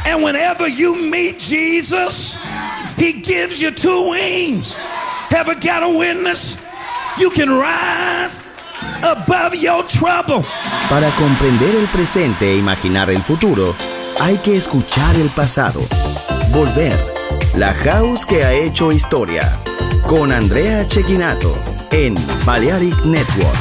And whenever you meet Jesus, he gives you two wings. Ever got a witness? You can rise above your trouble. Para comprender el presente e imaginar el futuro, hay que escuchar el pasado. Volver. La House que ha hecho historia. Con Andrea Cecchinato en Balearic Network.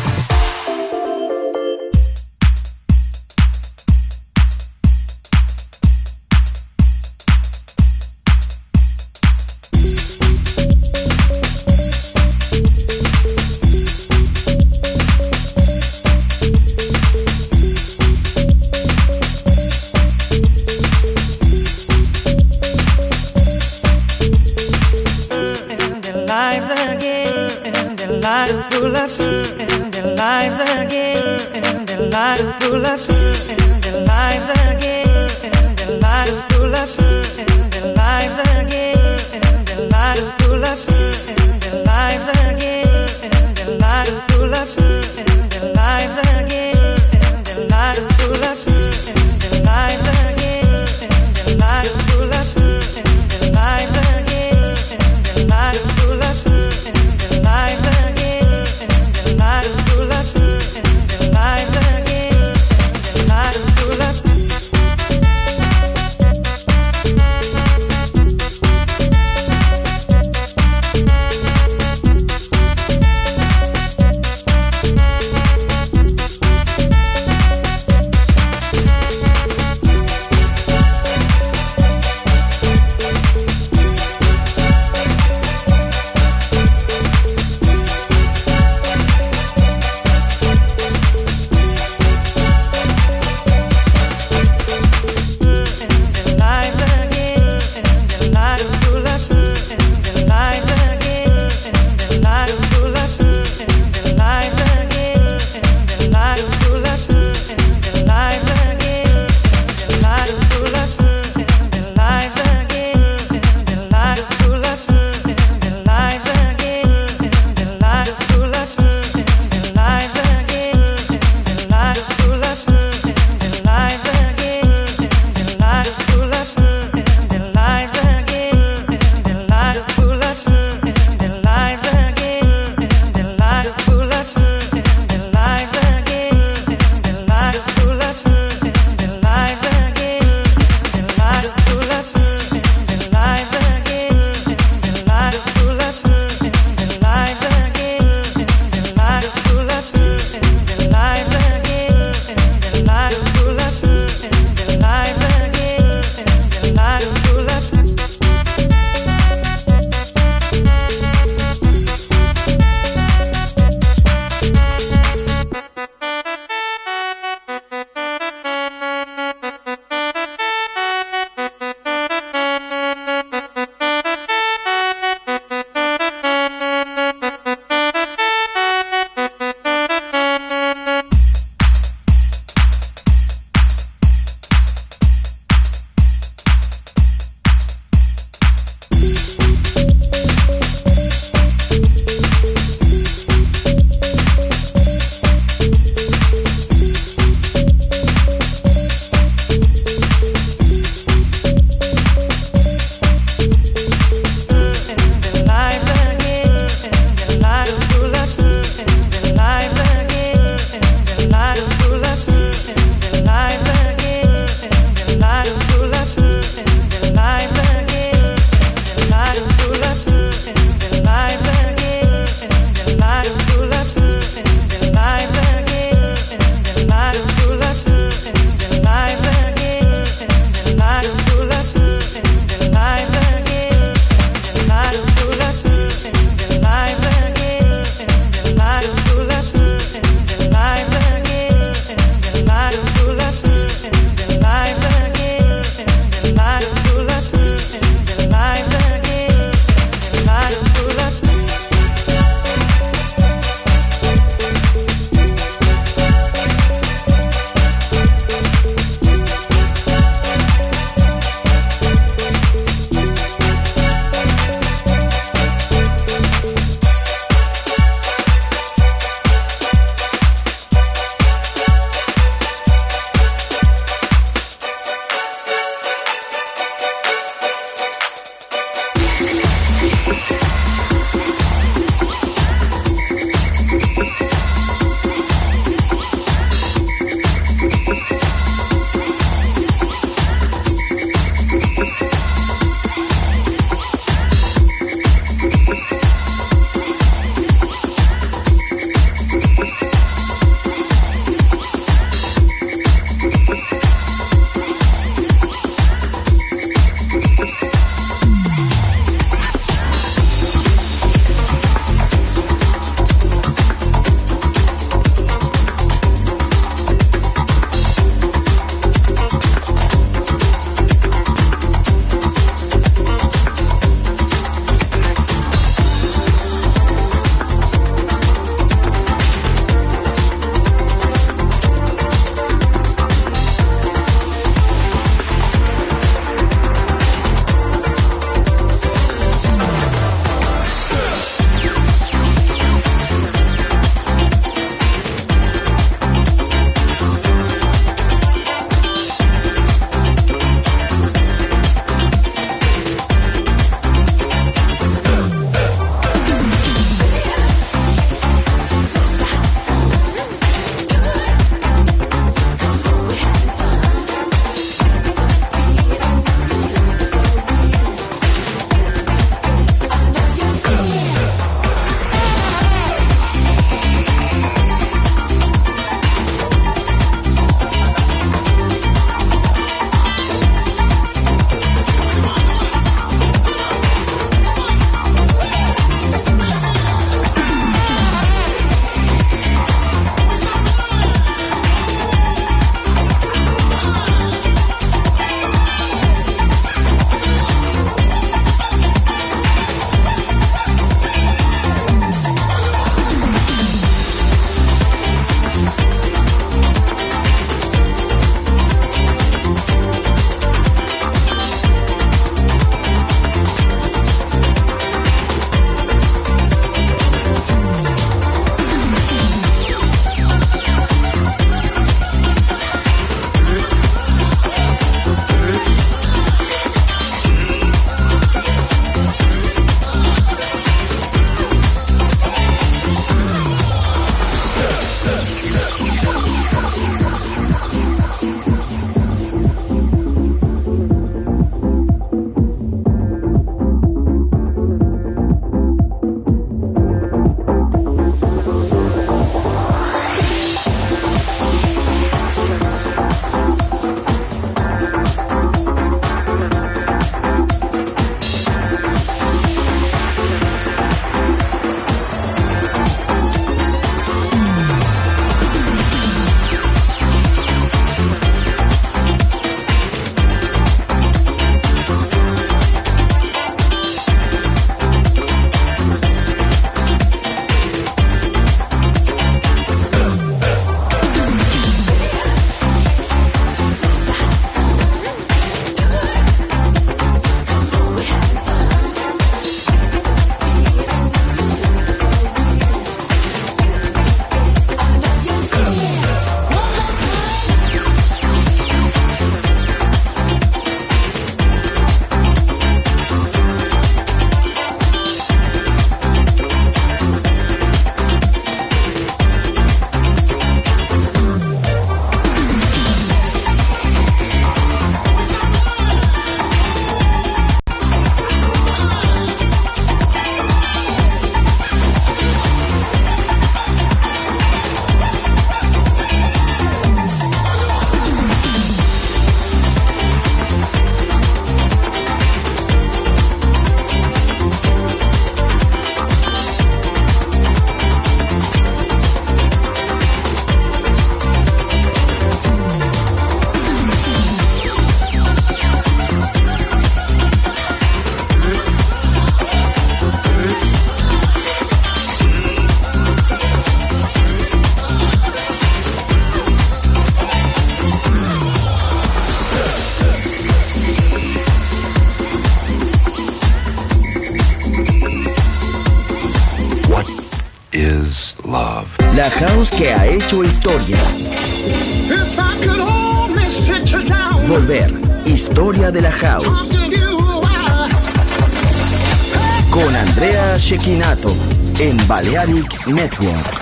is love. La house que ha hecho historia. If I could only sit you down. Volver. Historia de la house. Talk to you a while. Con Andrea Cecchinato en Balearic Network.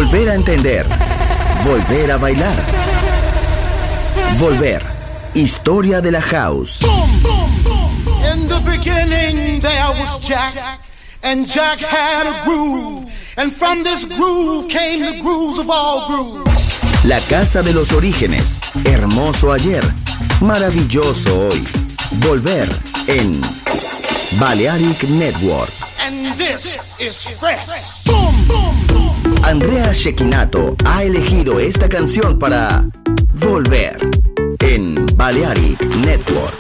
Volver a entender. Volver a bailar. Volver. Historia de la house. In the beginning there was Jack, and Jack had a groove, and from this groove came the grooves of all grooves. La casa de los orígenes. Hermoso ayer. Maravilloso hoy. Volver en Balearic Network. And this is fresh. Andrea Cecchinato ha elegido esta canción para Volver en Balearic Network.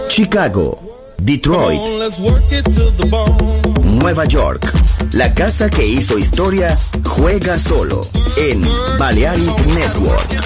Chicago, Detroit, Nueva York. La casa que hizo historia juega solo en Balearic Network.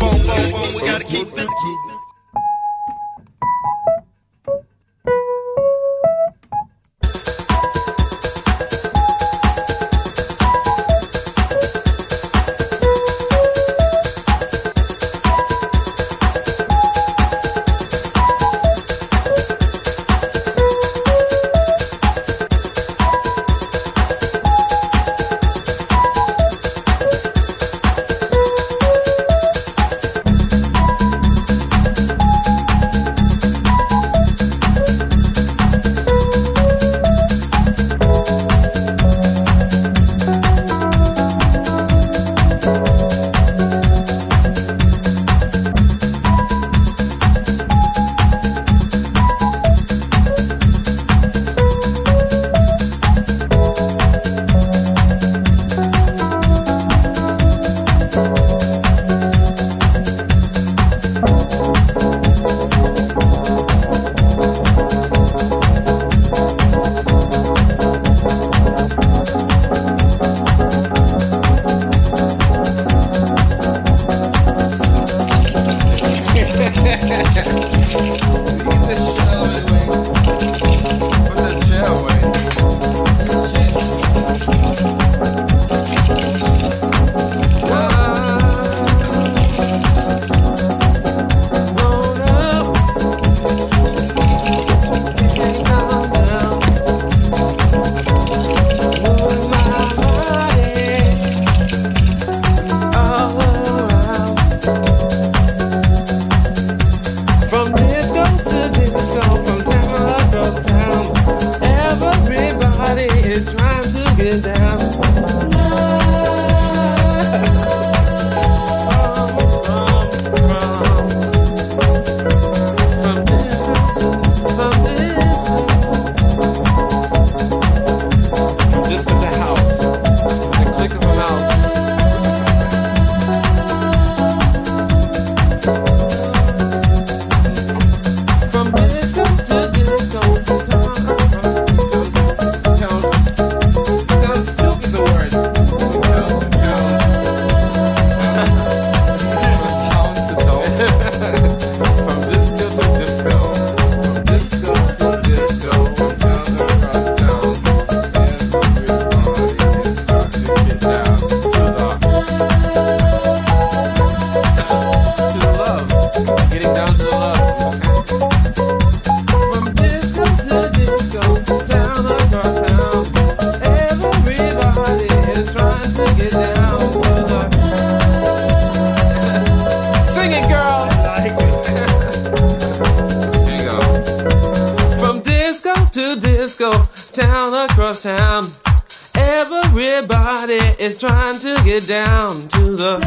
Trying to get down to the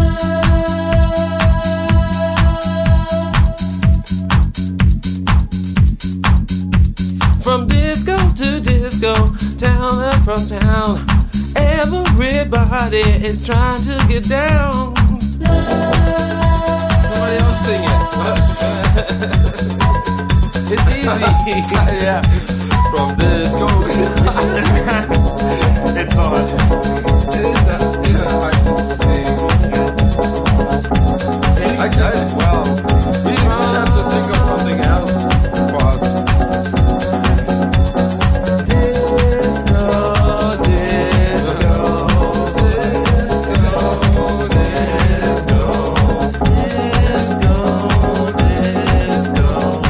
from disco to disco, town across town. Everybody is trying to get down. Somebody else sing it. It's easy. Yeah. From disco. It's on. Well, we have to think of something else for us. Disco, disco, disco, disco, disco, disco,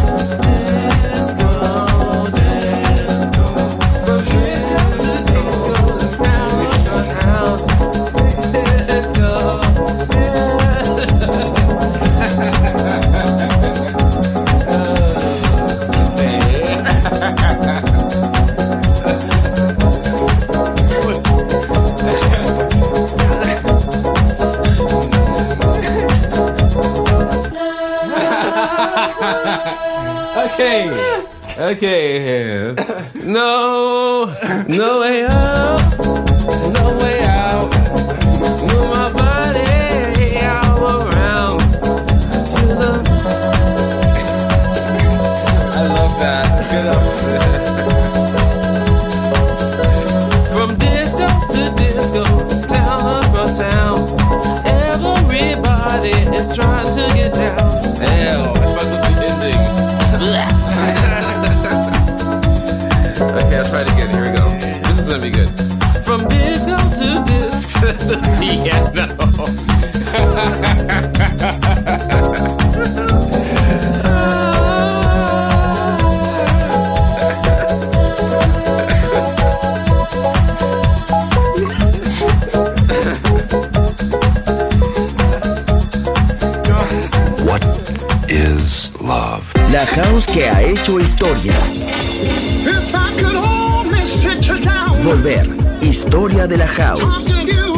Okay. No way up, no way out. Move my body all around to the. I love to get down. Hell, I fucked up the ending. Okay, let's try it again. Here we go. This is gonna be good. From disco to disc to the piano. What is love? La house que ha hecho historia. If I could only sit you down, Volver. Historia de la house. talk to you,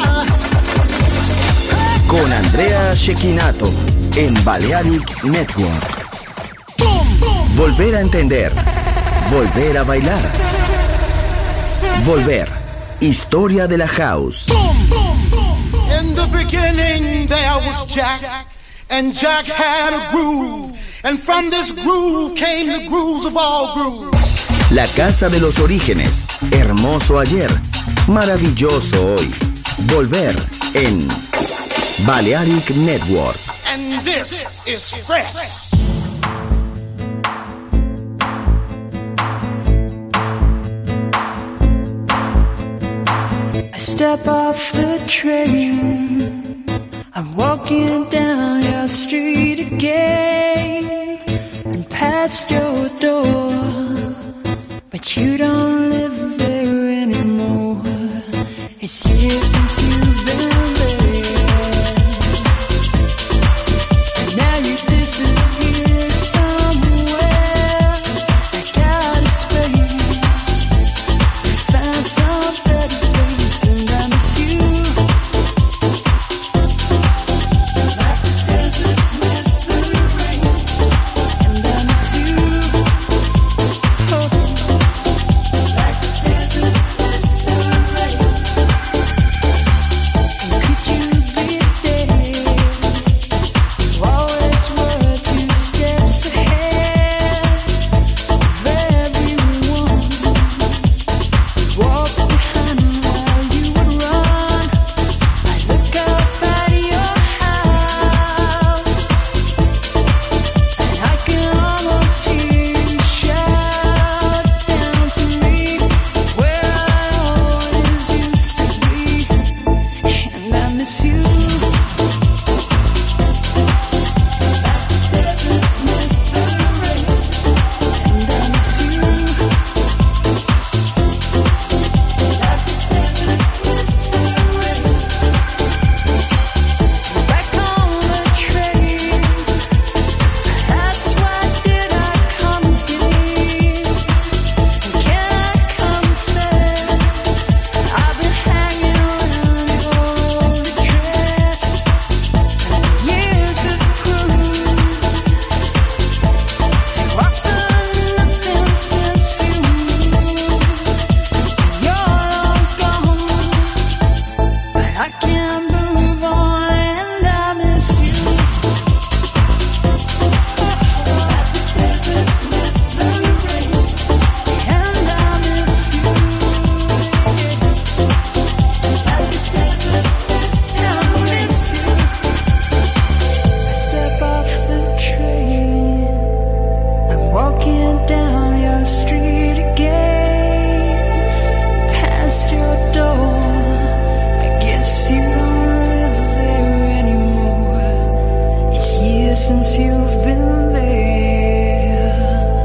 Con Andrea Cecchinato en Balearic Network. Volver a entender. Volver a bailar. Volver. Historia de la house. In the beginning there was Jack, and Jack had a groove, and from this groove came the grooves of all grooves. La casa de los orígenes. Hermoso ayer. Maravilloso hoy. Volver en Balearic Network. And this is fresh. I step off the train, I'm walking down your street again, and past your door, but you don't live there anymore. It's years since you've been there, and now you disappeared somewhere. Like out of space, you found some better place, and I miss you. Like the deserts miss the rain, and I miss you. Oh, like the deserts miss the rain. And could you be there? You always were 2 steps ahead of everyone. Walk behind while you would run. I look up at your house, and I can almost hear you shout down to me where I always used to be, and I miss you. Like the deserts miss the rain, and I miss you. Like the deserts miss the rain. Back on the train, that's why did I come here? Can I confess, I've been hanging around your dress. Years have proved to offer nothing since you're long gone, but I can't move on and I miss you. Like the deserts miss the rain, and I miss you. Like the deserts miss the rain, I miss you. I step off the train, I'm walking down your street again, past your door. I guess you don't live there anymore. It's years since you've been there,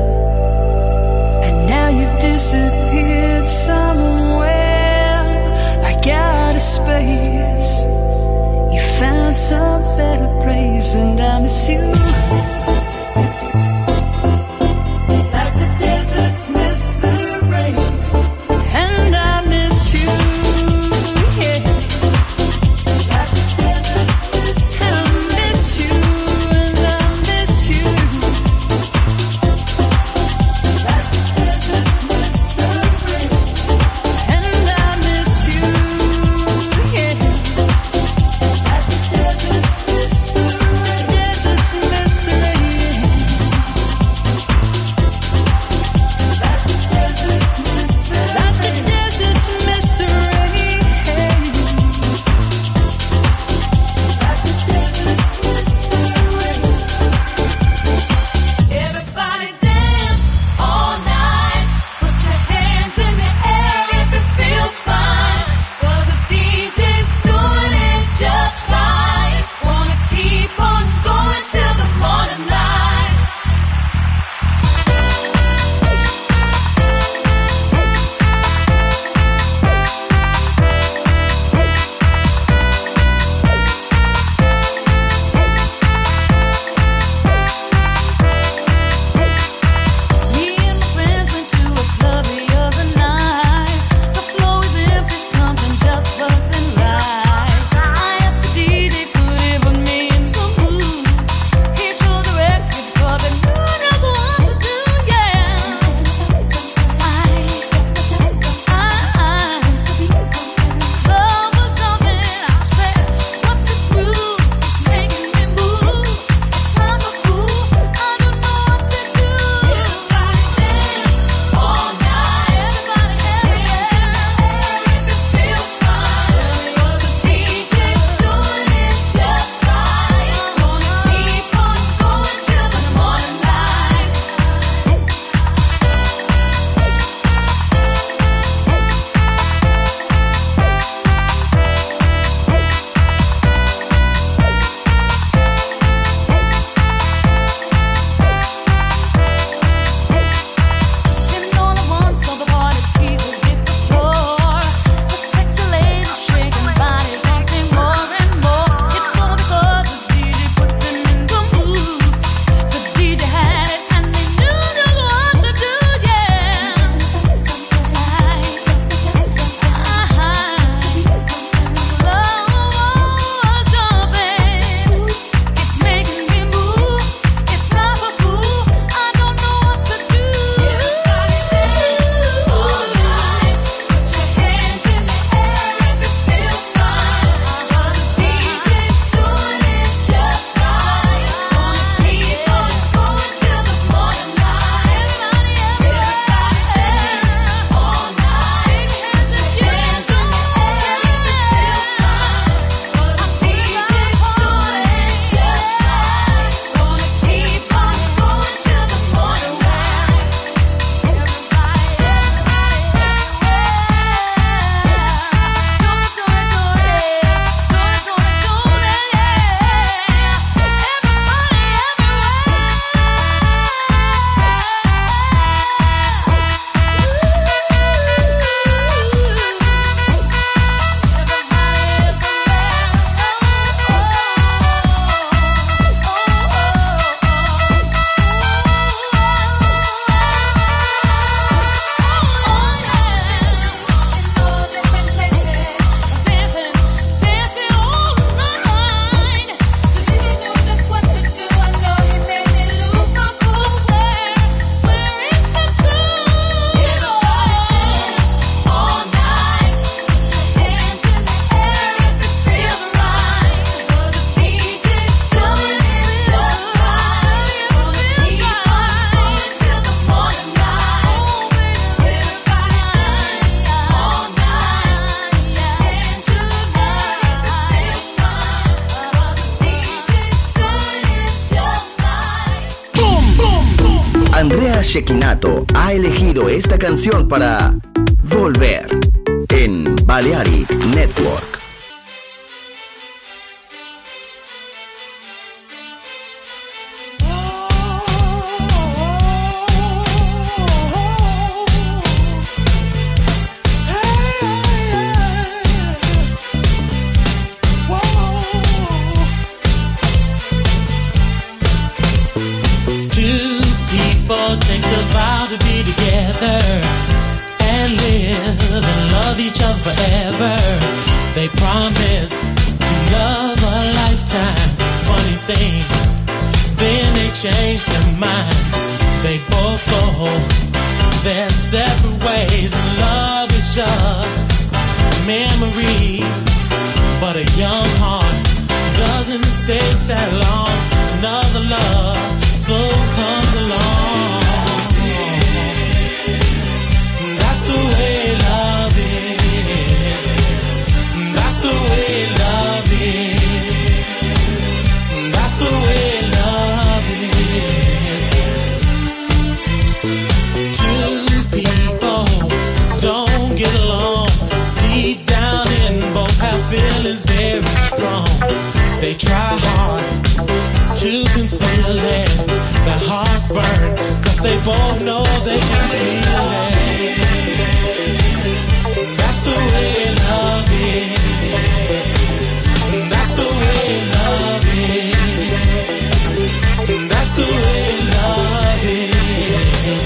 and now you've disappeared somewhere, like out of space. You found some better place, and I miss you. Like the deserts miss the rain, and I miss you. Yeah. Like the deserts miss the rain, and I miss Andrea Cecchinato ha elegido esta canción para Volver en Balearic Network. Take the vow to be together and live and love each other forever. They promise to love a lifetime. Funny thing, then they change their minds. They both go their separate ways. Love is just a memory, but a young heart doesn't stay sad long. Another love soon comes along. That's the way love is. That's the way love is. That's the way love is. Two people don't get along. Deep down in both have feelings very strong. They try hard to conceal it. Their hearts burn, 'cause they both know they can feel it. That's the way love is. That's the way love is. That's the way love is.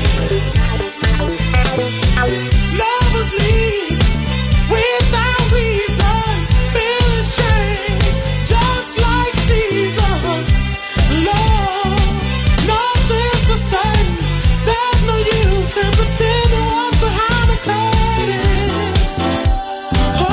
Lovers leave without reason. Feelings change just like seasons. Love, nothing's the same. There's no use in pretending what's behind the curtain. Oh,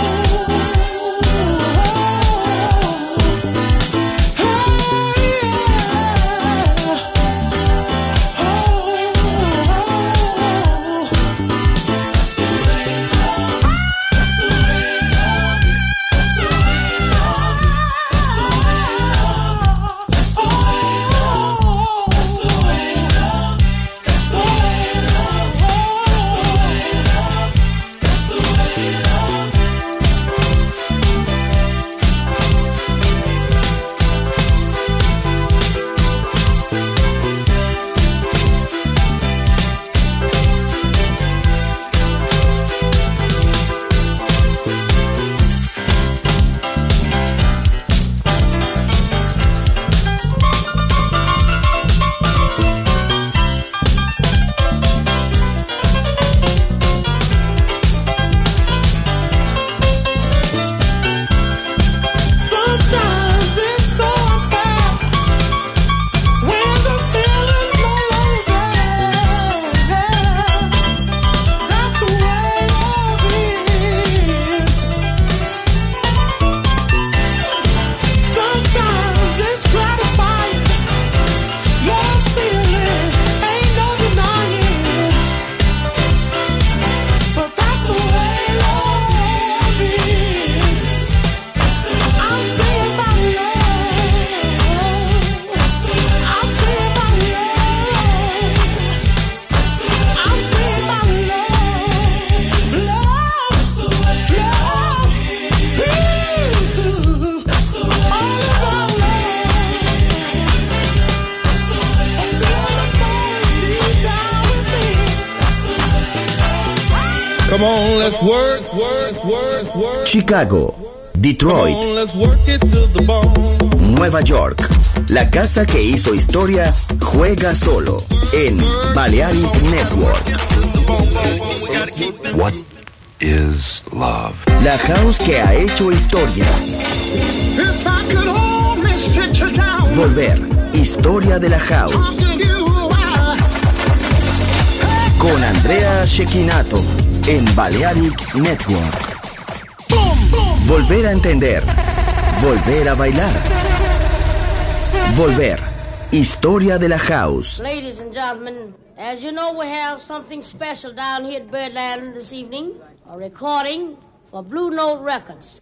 sometimes it's so unfair when the feeling's no longer there. That's the way love is. Sometimes it's gratifying. Love's feeling ain't no denying. But that's the way love is. I'm saying about love. I'm saying about love. I'm saying about love. Love, love. All about love. I feel the pain deep down within. Come on, let's work. Chicago, Detroit, Come on, let's work it to the bone. Nueva York. La casa que hizo historia juega solo en Balearic Network. What is love? La house que ha hecho historia. If I could only sit you down, Volver, historia de la house. talk to you while Con Andrea Cecchinato en Balearic Network. Volver a entender. Volver a bailar. Volver, historia de la house. Ladies and gentlemen, as you know, we have something special down here at Birdland this evening. A recording for Blue Note Records.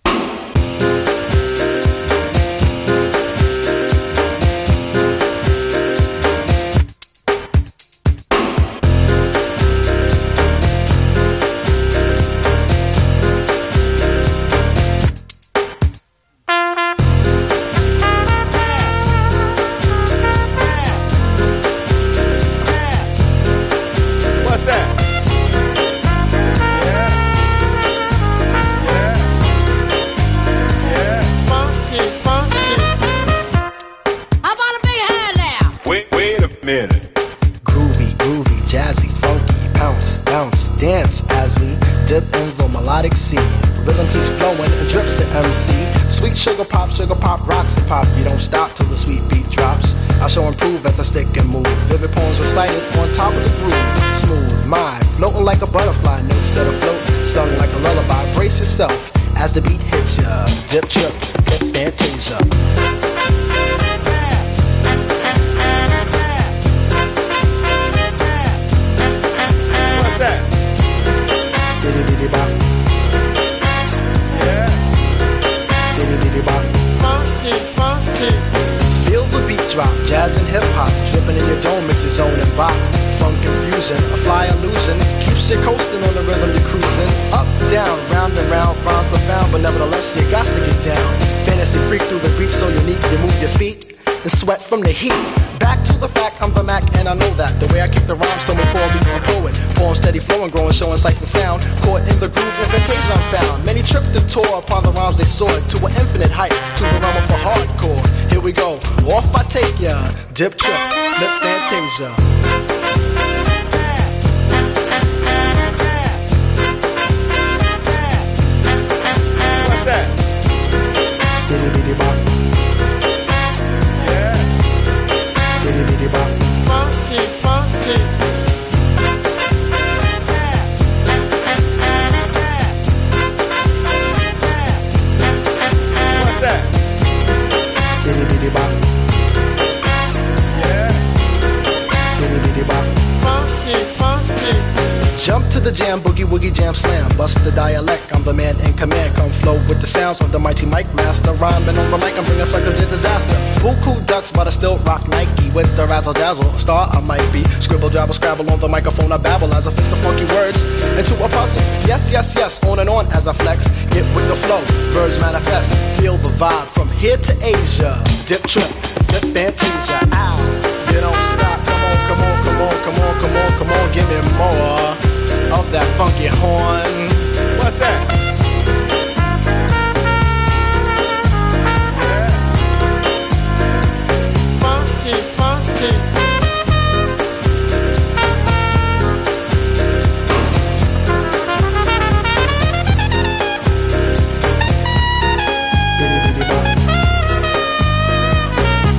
Mere. Groovy, jazzy, funky, bounce, bounce, dance as we dip in the melodic sea. Rhythm keeps flowing and drips to MC. Sweet sugar pop, rocks and pop. You don't stop till the sweet beat drops. I shall improve as I stick and move. Vivid poems recited on top of the groove. Smooth mind, floating like a butterfly. Notes set afloat, sung like a lullaby. Brace yourself as the beat hits ya. Dip, trip, flip, fantasia. What's that? Diddy diddy bop. Yeah. Diddy diddy bop. Funky, funky. Feel the beat drop, jazz and hip hop, dripping in your dome, it's your zone and bop. Funk confusion, a fly illusion, keeps you coasting on the rhythm you're cruising. Up, down, round and round, rhymes profound, but nevertheless you got to get down. Fantasy freak through the beat so unique, you move your feet and sweat from the heat. Back to the fact, I'm the Mac and I know that. The way I kick the rhyme, someone call me a poet. Poem steady flowing, growing, showing sights and sound. Caught in the groove, invitation I'm found. Many tripped and tore upon the rhymes they soared to an infinite height, to the realm of a hardcore. Here we go, off I take ya. Dip, trip, flip, fantasia. What's that? Diddy diddy bop. Yeah. Diddy diddy bop. Funky, funky. What's that? Diddy diddy bop. Yeah. Diddy diddy bop. Funky, funky. Jump to the jam, boogie woogie jam slam. Bust the dialect, I'm the man in command. Come flow with the sounds of the mighty mic master. Rhyming on the mic, I'm bringing suckers to disaster. Buku ducks, but I still rock Nike. With the razzle dazzle, a star I might be. Scribble, jabble, scrabble on the microphone, I babble as I fix the funky words into a puzzle. Yes, yes, yes, on and on as I flex. Get with the flow, birds manifest. Feel the vibe from here to Asia. Dip, trip, flip, fantasia. Ow, you don't stop. Come on, come on, come on, come on, come on, come on. Give me more of that funky horn. What's that? Yeah. Funky, funky. Diddy diddy bop.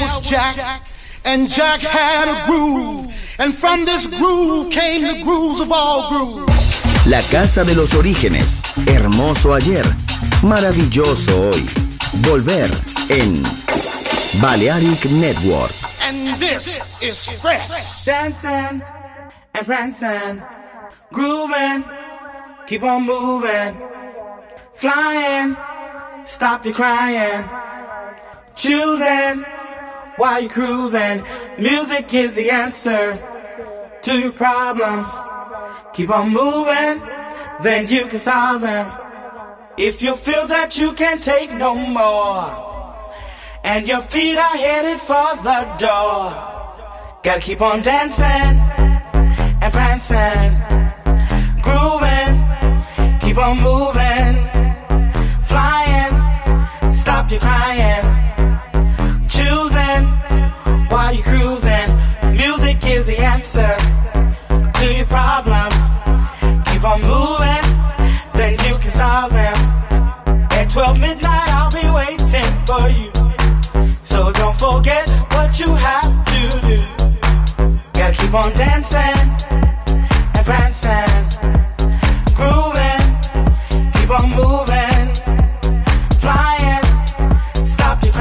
was Jack, and Jack had a groove, and from this groove came the grooves of all grooves. La casa de los orígenes, hermoso ayer, maravilloso hoy. Volver en Balearic Network. And this is fresh. Dancing and prancing, grooving, keep on moving, flying, stop your crying, choosing while you're cruising. Music is the answer to your problems. Keep on moving, then you can solve them. If you feel that you can't take no more, and your feet are headed for the door, gotta keep on dancing and prancing, grooving, keep on moving, flying, stop your crying, choosing while you're cruising. Music is the answer to your problems. Keep on moving, then you can solve them. At 12 midnight I'll be waiting for you, so don't forget what you have to do. Gotta keep on dancing and prancing, grooving, keep on moving, flying, stop your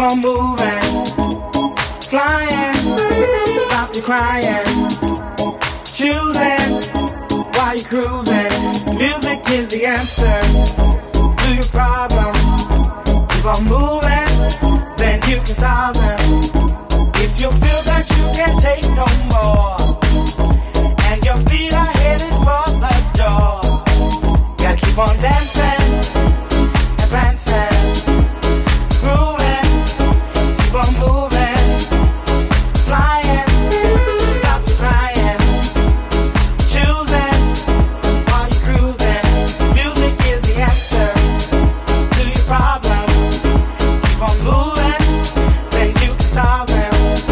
on moving, flying, stop your crying, choosing while you're cruising. Music is the answer to your problems. Keep on moving, then you can solve them. If you feel that you can't take no more, and your feet are headed for the door, gotta keep on dancing and prancing, grooving, keep on moving, flying, stop your crying, choosing while you're cruising. Music is the answer to your problems. Keep on moving, then you can solve them.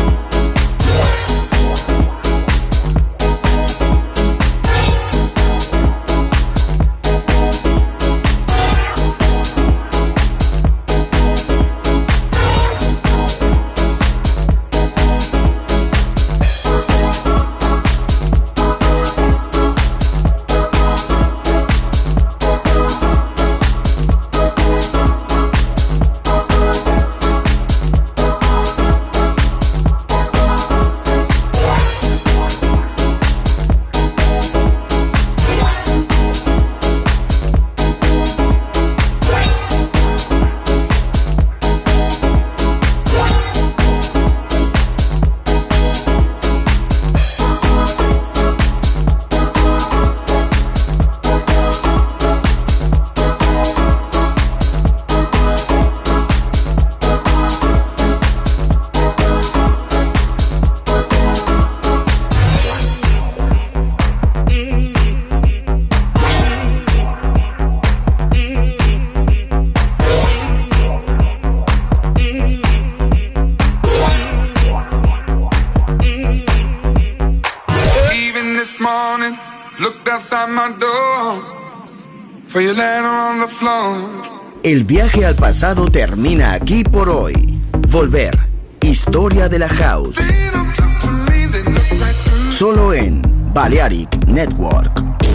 El viaje al pasado termina aquí por hoy. Volver. Historia de la House. Solo en Balearic Network.